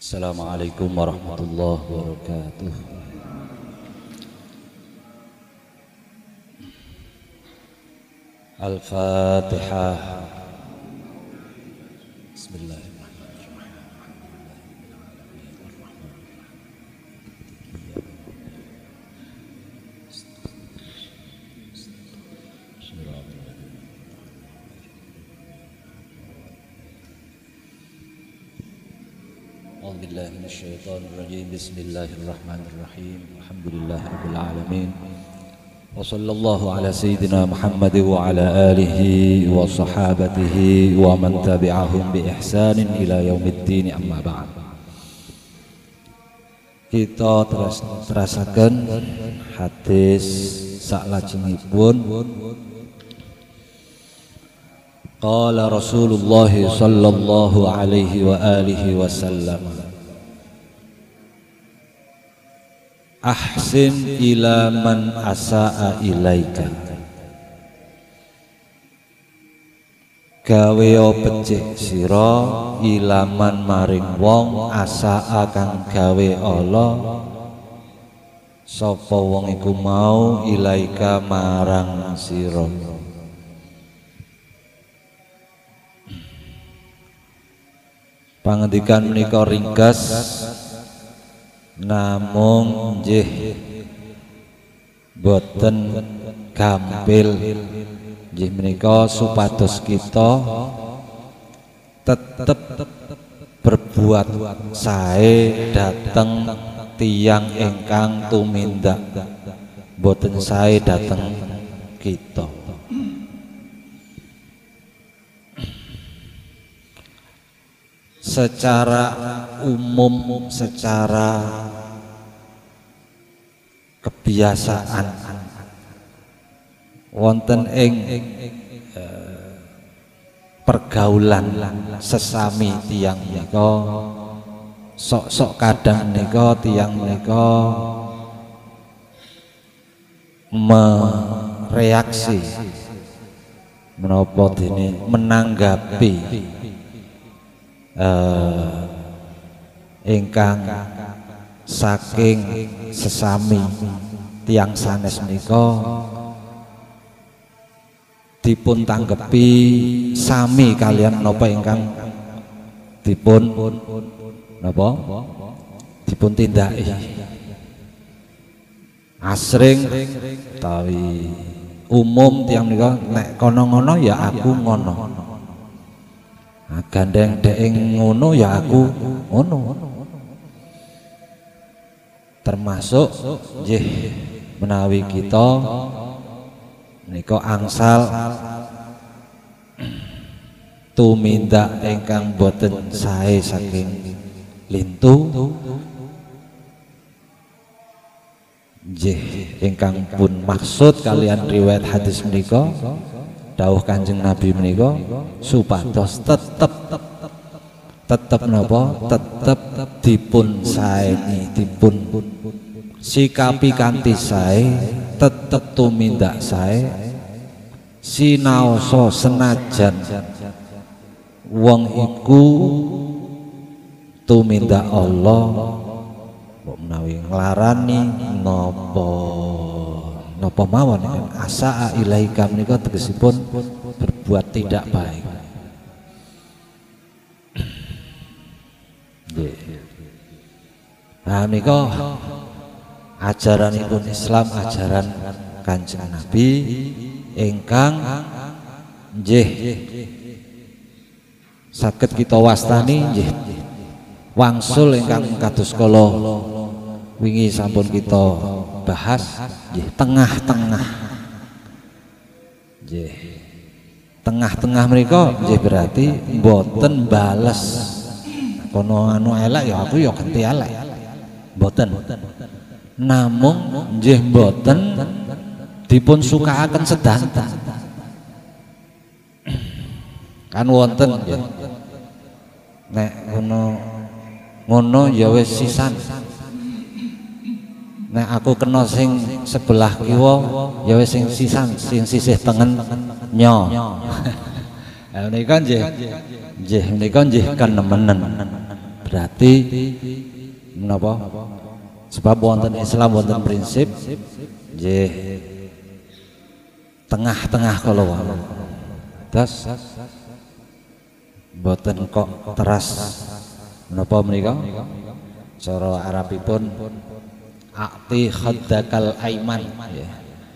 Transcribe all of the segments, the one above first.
Assalamualaikum warahmatullahi wabarakatuh. Al-Fatihah. Bismillahirrahmanirrahim. A'udzubillahi minasyaitonir rajim. Bismillahirrahmanirrahim. Alhamdulillahirabbil alamin. Wa sallallahu ala sayyidina Muhammad wa ala alihi wa sahabatihi wa man tabi'ahum bi ihsanin ila yaumiddin, amma ba'd. Kita terasaken hadis saklajengipun. Qala Rasulullah sallallahu alaihi wa alihi wasallam, ahsin ila man asaa ilaika. Gawe becik sira ilaman maring wong asaa kang gawe Allah sapa wong iku mau ilaika marang sira. Pangendikan menika ringkas namung nggih boten gampil, nggih menika supados kita tetep berbuat sae dhateng tiyang ingkang tumindak, boten sae dhateng kita. Secara umum, secara kebiasaan wonten ing pergaulan sesami tiyang menika sok-sok kadang menika tiyang menika mereaksi menapa dene menanggapi ingkang saking sesami tiyang sanes menika dipun tanggepi sami kalian napa ingkang dipun napa dipun tindaki. Asring utawi umum tiyang menika nek kono ngono ya aku ngono, gandeng dek ngono ya aku ngono. Termasuk nggih menawi kita nika angsal tumindak ingkang boten sae saking lintu, nggih ingkang pun maksud kalian riwayat hadis menika dawuh Kanjeng Nabi menika supados tetep napa tetep dipun saeni, dipun sikapi kanthi sae, tetep tumindak sae, sinaosa senajan wong iku tumindak Allah kok menawi nglarani napa mawon asaa ilaika menika tegesipun berbuat tidak baik. Nah menika ajaranipun Islam, ajaran Kanjeng Nabi ingkang nggih saged kita wastani nggih wangsul ingkang kados kala wingi sampun kita bahas nggih tengah-tengah. Nggih. Tengah-tengah menika nggih berarti mboten bales. Kono anu elek ya aku ya ganti elek. Mboten. Namung nggih mboten dipun sukaaken sedanten. Kan wonten nggih. Nek ngono ya wis sisan. Nek aku kena sing sebelah kiwa ya wis sing sisan, sing sisih tengen nyo. Menika nggih menika nggih kenemenen. Berarti menapa? Sebab wonten Islam wonten prinsip nggih tengah-tengah kala wau. Terus mboten kok teras menapa menika? Cara Arabipun akti khaddakal aiman nggih.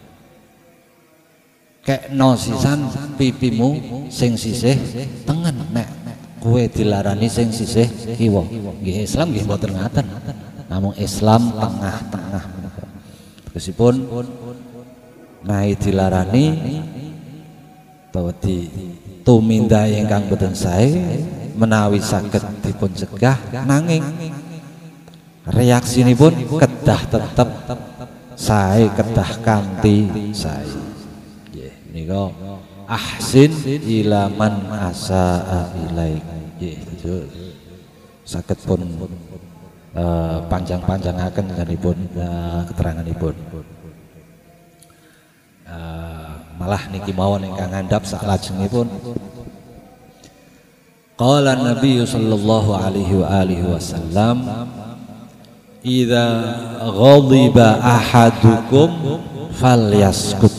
Kekno sisan pipimu sing sisih tengen nek kowe dilarani sing sisih kiwa. Nggih Islam nggih mboten ngaten. Namung Islam tengah-tengah. Tegesipun naik dilarani utawa tumindak ingkang boten sae menawi saged dipun cegah nanging reaksinipun kedah tetep sae kedah kanthi sae. Nggih menika ahsin ila man asaa ilaik. Nggih saged pun panjang-panjangaken nganipun keteranganipun. Malah niki mawon ingkang ngandhap saklajengipun qala Nabi sallallahu alaihi wa alihi wasallam idza ghadiba ahadukum falyaskut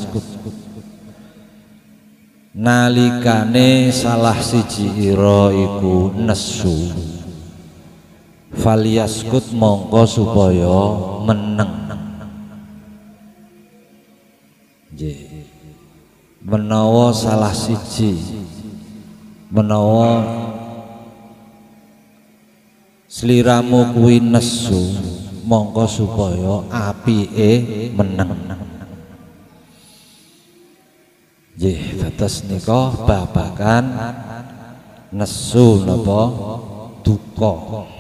nalikane salah siji ira iku nesu falyaskut mongko supaya meneng. Menawa salah siji menawa sliramu kuwi nesu mongko supaya apike meneng. Nggih dados nika babagan nesu napa duka.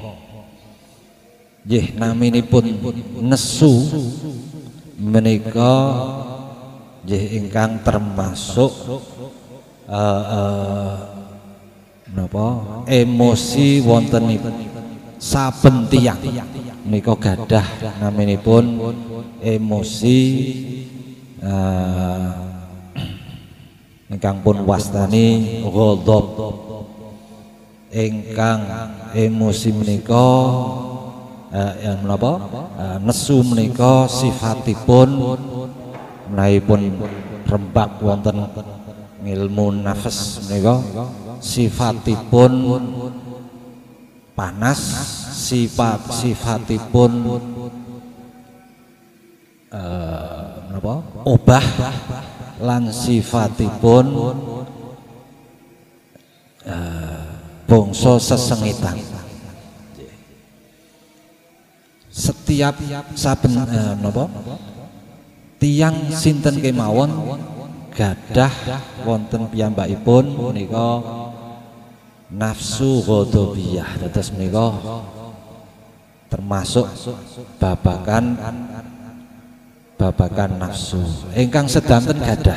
Nggih naminipun nesu menika nggih ingkang termasuk napa emosi wontenipun saben tiyang menika gadah naminipun emosi ingkang pun wastani ghadab ingkang emosi menika menapa nesu menika sifatipun menaipun rembak wonten ilmu nafas menika sifatipun panas sifatipun menapa obah lan sifatipun bangsa sesengitan. Setiap saben napa tiyang sinten kemawon gadah wonten piyambakipun menika nafsu ghadabiyah. Dados menika termasuk babagan nafsu ingkang sedanten gadah.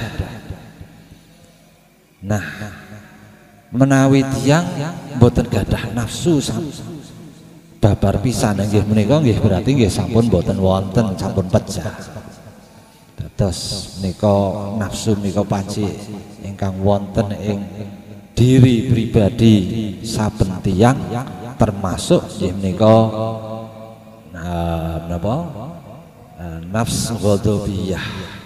Nah, menawi tiyang boten gadah nafsu babar pisan nggih menika nggih berarti nggih sampun boten wonten sampun pecah. Dados menika nafsu menika panci ingkang wonten ing diri pribadi saben tiyang termasuk nggih menika menapa nafs ghadabiyah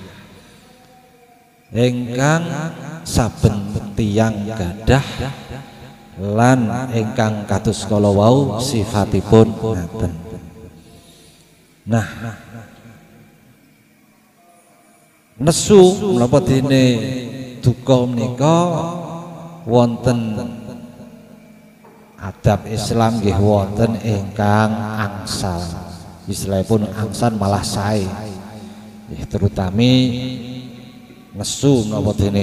ingkang saben tiyang gadah lan ingkang kados kala wau sifatipun ngaten. Nah, nesu menapa dene duka menika wonten adab Islam nggih wonten ingkang angsal. Istilahipun angsal malah sae. Terutami nesu menapa dene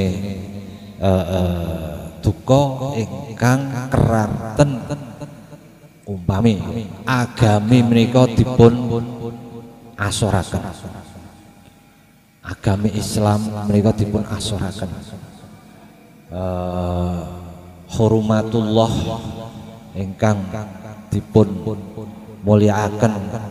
duka ingkang keranten umpami agami menika dipun asoraken. Agami Islam menika dipun asoraken. Hurumatullah ingkang dipun mulyakaken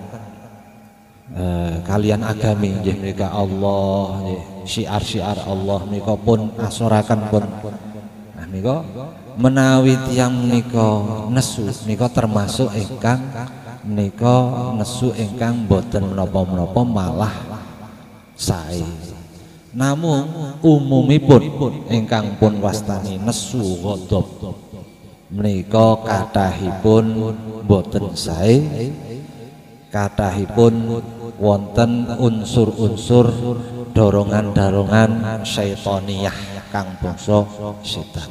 kalian agami nggih menika Allah nggih syiar-syiar Allah menika pun asoraken pun Nah menika menawi tiyang menika nesu menika termasuk ingkang menika nesu ingkang boten menapa-menapa malah sae. Namung umumipun ingkang pun wastani nesu ghadab menika kathahipun boten sae, kathahipun wonten unsur-unsur dorongan-dorongan syaitoniyah kang bangsa setan.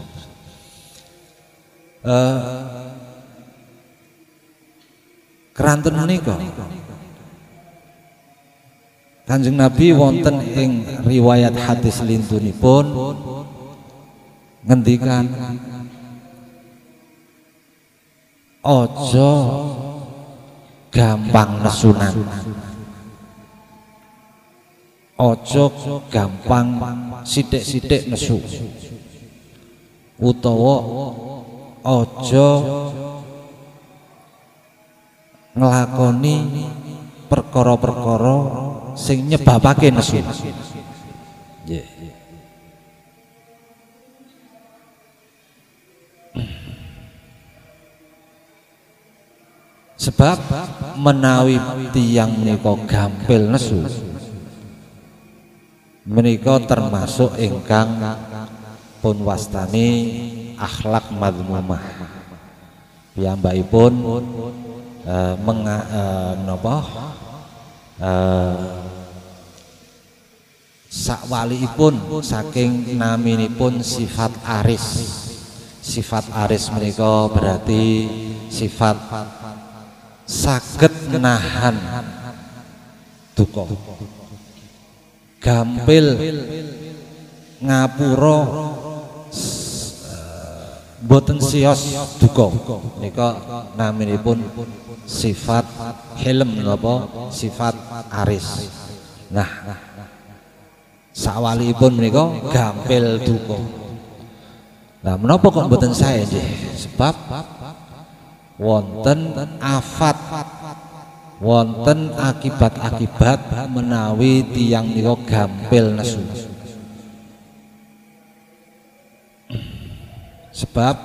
Keranten menika Kanjeng Nabi wonten ing riwayat hadis lintunipun ngendikan ojo gampang nesunan, ojo gampang sithik-sithik nesu, utawa ojo nglakoni perkara-perkara sing nyebabake nesu. Nggih. Sebab menawi tiyang menika gampil nesu menika termasuk ingkang pun wastani akhlak madmumah. Piyambakipun sakwaliipun saking naminipun sifat aris. Sifat aris menika berarti sifat saged nahan duka, gampil ngapura boten sios duka. Nika naminipun sifat hilm napa sifat aris. Nah sakwalipun menika gampil duka. Nah menapa kok boten sae nggih? Sebab wonten afat, wonten akibat-akibat menawi tiyang nika gampil nesu. Sebab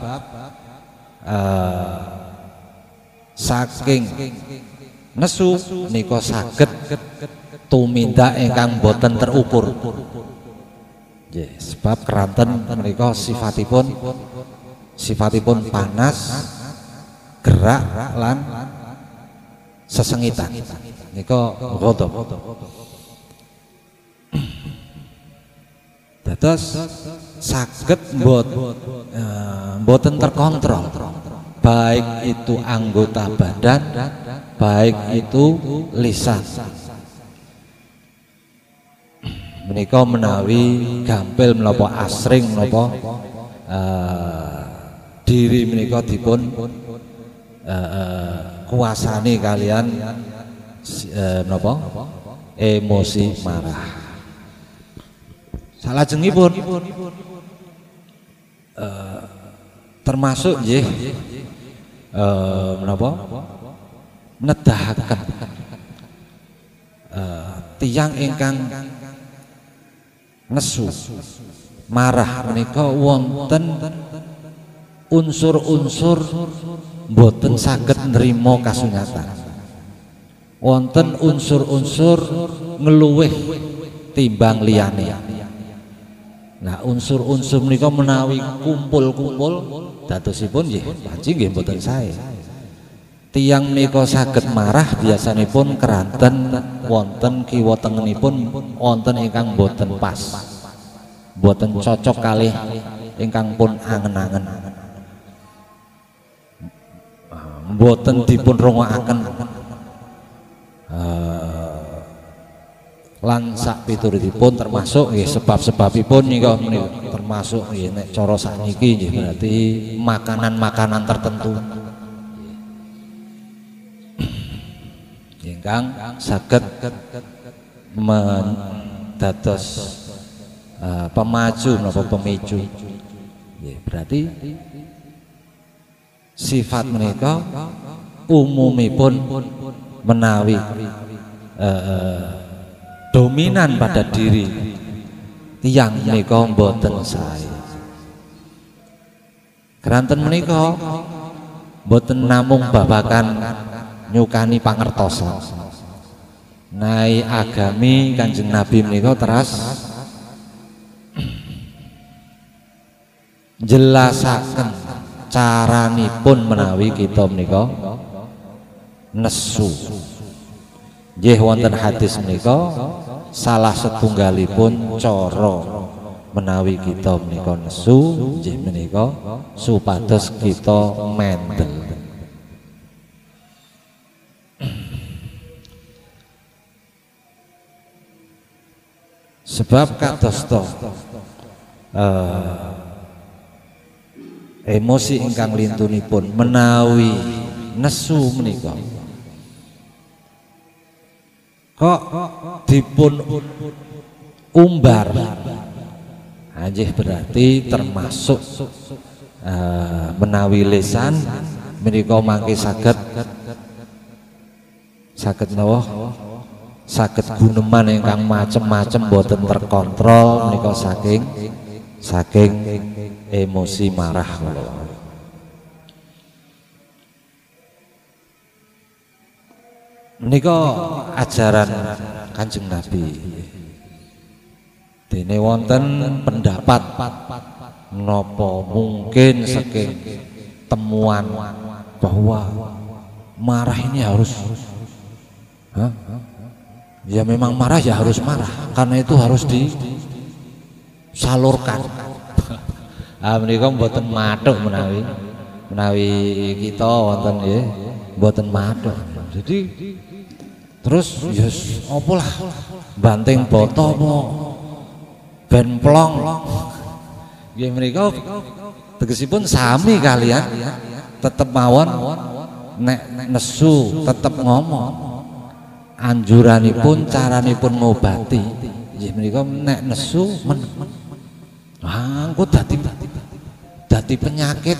saking nesu nika saged tumindak ingkang boten terukur. Nggih, sebab keranten menika sifatipun panas, gerak lan sesengitan. Nika ghadab. Dados saged boten terkontrol, baik itu anggota badan, baik itu lisan. Menika menawi gampil menapa asring menapa diri menika dipun kuasani kalian menapa emosi marah. Salajengipun termasuk nggih menapa nedahaken tiyang ingkang nesu marah menika wonten unsur-unsur boten saged nrimo kasunyatan, wonten unsur-unsur ngeluwih timbang liyane. Nah unsur-unsur menika menawi kumpul-kumpul dadosipun nggih panci nggih boten sae. Tiyang menika saged marah biasanipun keranten wonten kiwa tengenipun wonten ingkang boten pas, boten cocok kalih ingkang pun angen-angen, boten dipun rungokaken lan sak piturutipun termasuk nggih sebab-sebabipun nika termasuk nggih nek cara sakniki nggih berarti makanan-makanan tertentu ingkang saged dados pemaju menapa pemicu. Berarti sifat menika umumipun menawi dominan pada diri tiyang menika mboten sae. Keranten menika boten namung babakan nyukani pangertosan. Nai agami Kanjeng Nabi menika teras jelasaken caranipun menawi kita menika nesu. Nggih wonten hadis menika salah setunggalipun cara menawi kita menika nesu nggih menika supados kita mendel. Sebab kados to emosi ingkang lintunipun menawi nesu menika kok dipun umbar anjih berarti termasuk menawi lisan menika mangke saged napa saged guneman ingkang macem-macem boten terkontrol menika saking emosi marah kula. Menika ajaran Kanjeng Nabi. Dene wonten pendapat napa mungkin saking temuan bahwa marah ini harus ya memang marah ya harus marah karena itu harus disalurkan. Menika mboten mathuk menawi kita wonten nggih mboten mathuk. Jadi terus yes opo lah banting boto apa ben plong nggih menika tegesipun sami kalian tetep mawon nek nesu tetep ngomong anjuranipun caranipun ngobati nggih menika nek nesu engko dadi penyakit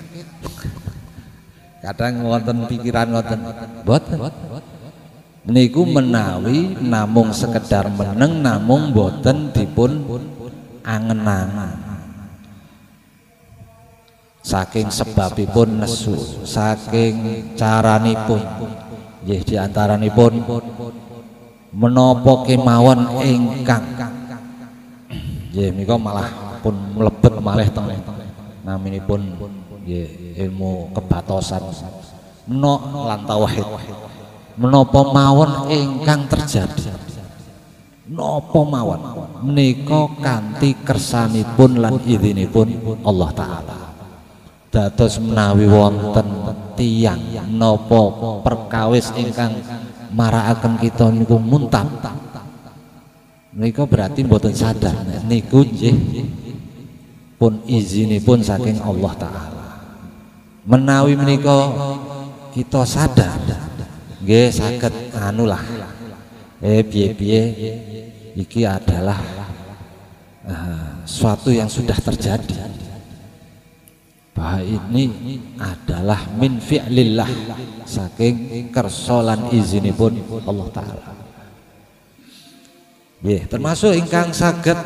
kadang wonten pikiran wonten boten niku menawi namung sekedar meneng namung boten dipun angen-angen saking sebabipun nesu saking caranipun nggih diantaranipun menapa kemawon ingkang nggih menika malah pun mlebet malih teng naminipun nggih ilmu kebatosan lan tauhid. Menapa mawon ingkang terjadi napa mawon menika kanthi kersanipun lan idzinipun Allah taala. Dados menawi wonten tiyang napa perkawis ingkang marakaken kita niku muntap menika berarti mboten sadar niku nggih pun izinipun saking Allah taala. Menawi menika kita sadar nggih saged anulah piye-piye iki adalah suatu yang sudah terjadi bahwa ini adalah min fi'lillah saking kersolan izinipun Allah taala. Nggih termasuk ingkang saged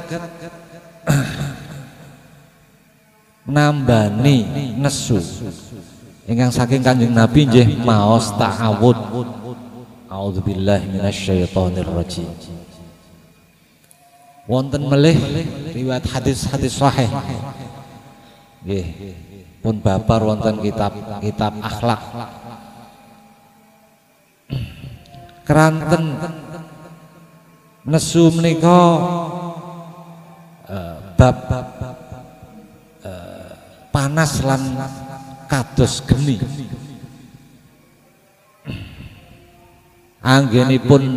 nambani nesu ingkang saking Kanjeng Nabi nggih maos ta'awud. A'udzubillahi minasyaitonir rajim. Wonten melih riwayat hadis-hadis sahih. Nggih, pun babar wonten kitab akhlak. Keranten nesu menika bab panas lan kados geni. Anggenipun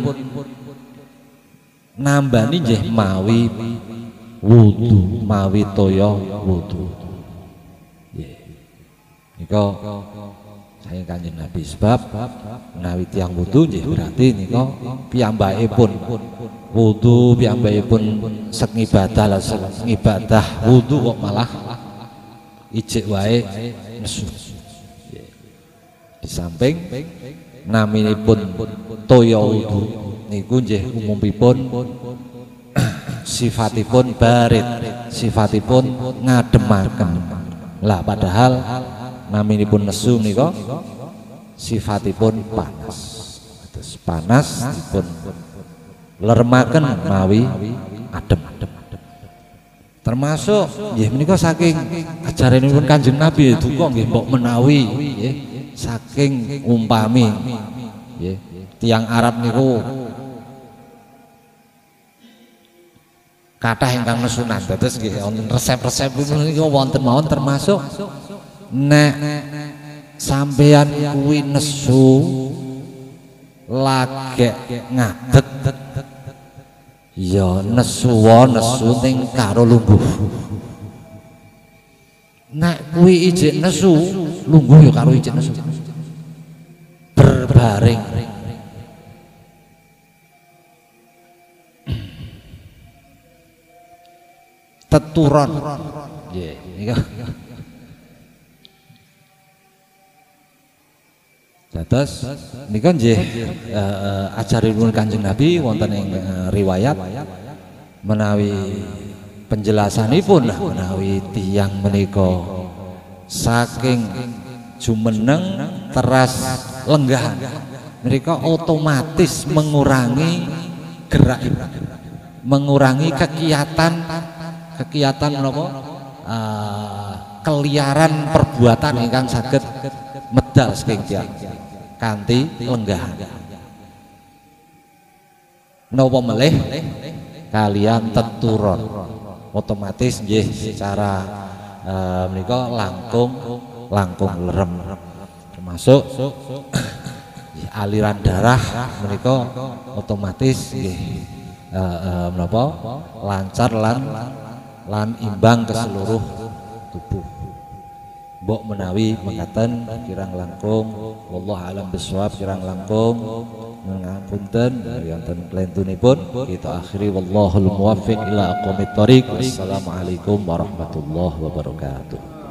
nambani nggih mawi wudu, mawi toya wudu. Nggih. Nika saking Kanjeng Nabi sebab menawi tiyang wudu nggih berarti nika piyambakipun wudu, piyambakipun sek ngibadah, ngibadah wudu kok malah ijik wae nesu. Di samping naminipun toya wudu niku nggih umumipun sifatipun barid, sifatipun ngademaken Lah padahal naminipun nesu menika sifatipun panas. Terus panas dipun lermaken mawi adem. Termasuk nggih menika saking ajaranipun Kanjeng Nabi duka nggih mbok menawi nggih saking umpami nggih tiyang Arab niku kathah ingkang nesunan. Dados nggih wonten resep-resep niku wonten mawon termasuk nek sampeyan kuwi nesu lagek ngadeg ya nesu ning karo lungguh. Nek kuwi ijik nesu lungguh ya karo ijik nesu berbaring. Teturon nggih nika. Dados nika nggih ajaranipun Kanjeng Nabi wonten ing riwayat menawi penjelasanipun menawi tiyang menika saking jumeneng teras lenggahan mereka otomatis mengurangi gerak, mengurangi kegiatan menapa keliaran perbuatan ingkang saged medal saking tiyang kanthi lenggahan. Napa melih kalian teturon otomatis nggih secara menika langkung lerem, termasuk aliran darah menika otomatis nggih menapa lancar lan imbang ke seluruh tubuh. Mbok menawi mekaten kirang langkung wallahu alam bisawab, kirang langkung ngapunten wonten klentunipun kita akhiri wallahul muwaffiq ila aqwamit thoriq. Wassalamualaikum warahmatullahi wabarakatuh.